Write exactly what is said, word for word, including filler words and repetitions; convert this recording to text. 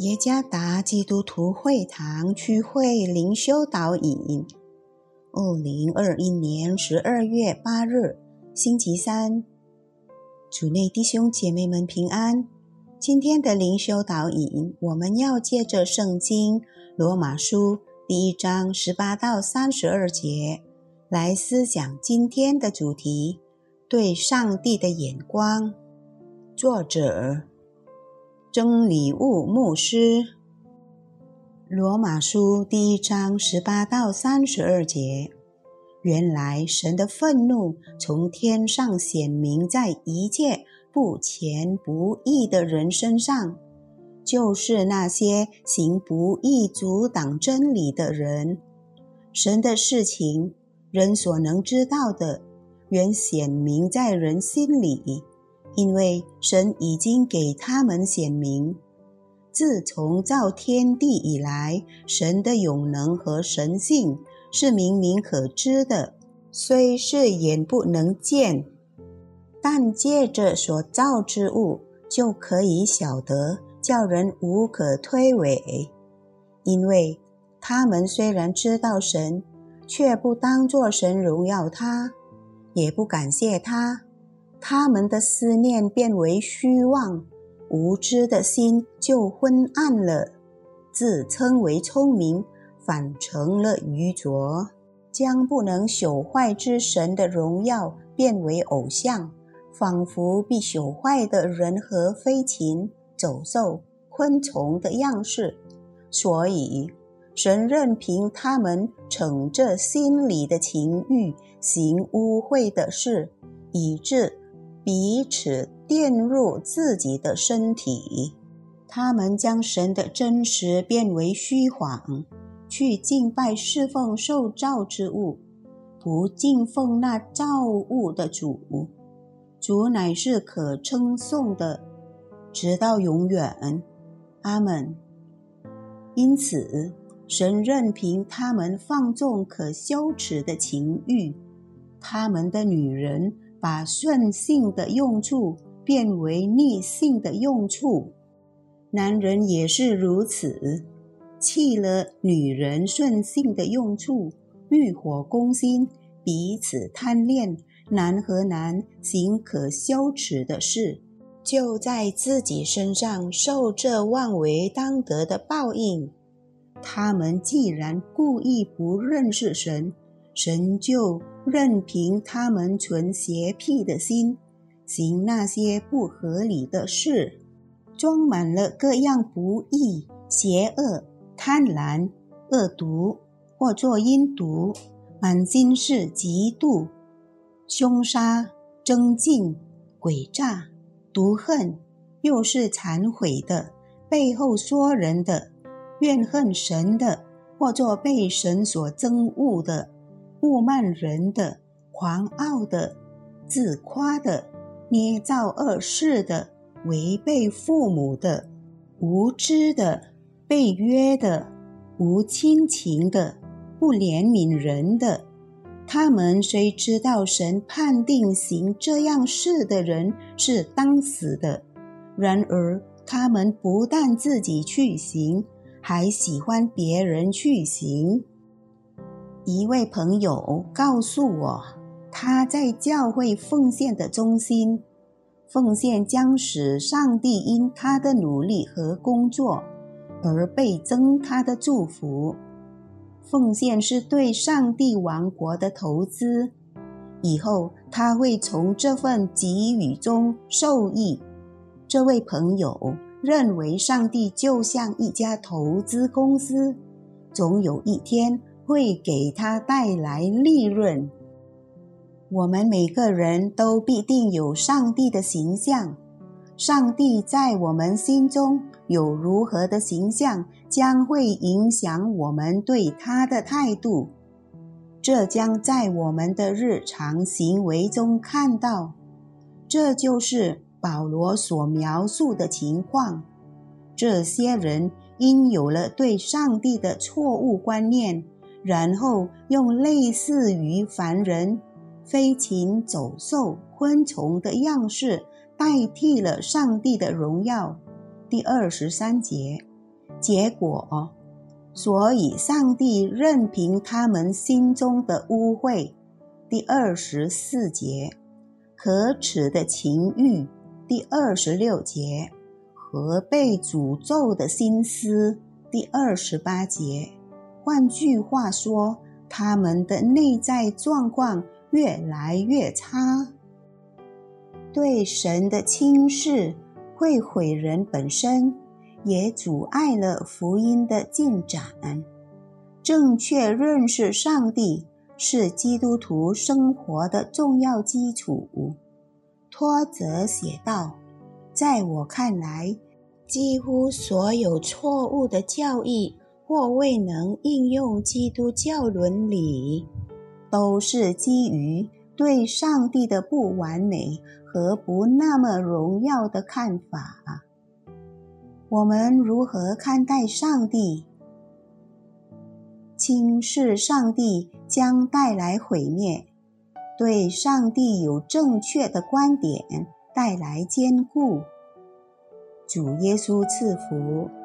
耶加达基督徒会堂区会灵修导引，二零二一年十二月八日，星期三。主内弟兄姐妹们平安。今天的灵修导引，我们要借着圣经罗马书第一章十八到三十二节来思想今天的主题：对上帝的眼光。作者真理悟牧师。罗马书第一章十八到三十二节，原来神的愤怒从天上显明在一切不虔不义的人身上，就是那些行不义阻挡真理的人。神的事情，人所能知道的，原显明在人心里，因为神已经给他们显明。自从造天地以来，神的永能和神性是明明可知的，虽是眼不能见，但借着所造之物就可以晓得，叫人无可推诿。因为他们虽然知道神，却不当作神荣耀他，也不感谢他，他们的思念变为虚妄，无知的心就昏暗了，自称为聪明，反成了愚拙，将不能朽坏之神的荣耀变为偶像，仿佛必朽坏的人和飞禽、走兽、昆虫的样式。所以神任凭他们逞着心里的情欲，行污秽的事，以致彼此玷入自己的身体。他们将神的真实变为虚谎，去敬拜侍奉受造之物，不敬奉那造物的主。主乃是可称颂的，直到永远。阿们。因此神任凭他们放纵可羞耻的情欲，他们的女人把顺性的用处变为逆性的用处，男人也是如此，弃了女人顺性的用处，欲火攻心，彼此贪恋，男和男行可羞耻的事，就在自己身上受这妄为当得的报应。他们既然故意不认识神，神就任凭他们存邪僻的心，行那些不合理的事，装满了各样不义、邪恶、贪婪、恶毒，或作阴毒，满心是嫉妒、凶杀、争竞、诡诈、毒恨，又是残毁的，背后说人的，怨恨神的，或作被神所憎恶的，侮慢人的，狂傲的，自夸的，捏造恶事的，违背父母的，无知的，背约的，无亲情的，不怜悯人的。他们虽知道神判定行这样事的人是当死的，然而他们不但自己去行，还喜欢别人去行。一位朋友告诉我，他在教会奉献的中心，奉献将使上帝因他的努力和工作而倍增他的祝福。奉献是对上帝王国的投资，以后他会从这份给予中受益。这位朋友认为上帝就像一家投资公司，总有一天会给他带来利润。我们每个人都必定有上帝的形象，上帝在我们心中有如何的形象，将会影响我们对他的态度。这将在我们的日常行为中看到。这就是保罗所描述的情况。这些人因有了对上帝的错误观念，然后用类似于凡人、飞禽、走兽、昆虫的样式代替了上帝的荣耀。第二十三节， 结果，所以上帝任凭他们心中的污秽，第二十四节，可耻的情欲，第二十六节，和被诅咒的心思，第二十八节。换句话说，他们的内在状况越来越差。对神的轻视会毁人本身，也阻碍了福音的进展。正确认识上帝是基督徒生活的重要基础。托则写道，在我看来，几乎所有错误的教义或未能应用基督教伦理，都是基于对上帝的不完美和不那么荣耀的看法。我们如何看待上帝？轻视上帝将带来毁灭，对上帝有正确的观点带来坚固。主耶稣赐福。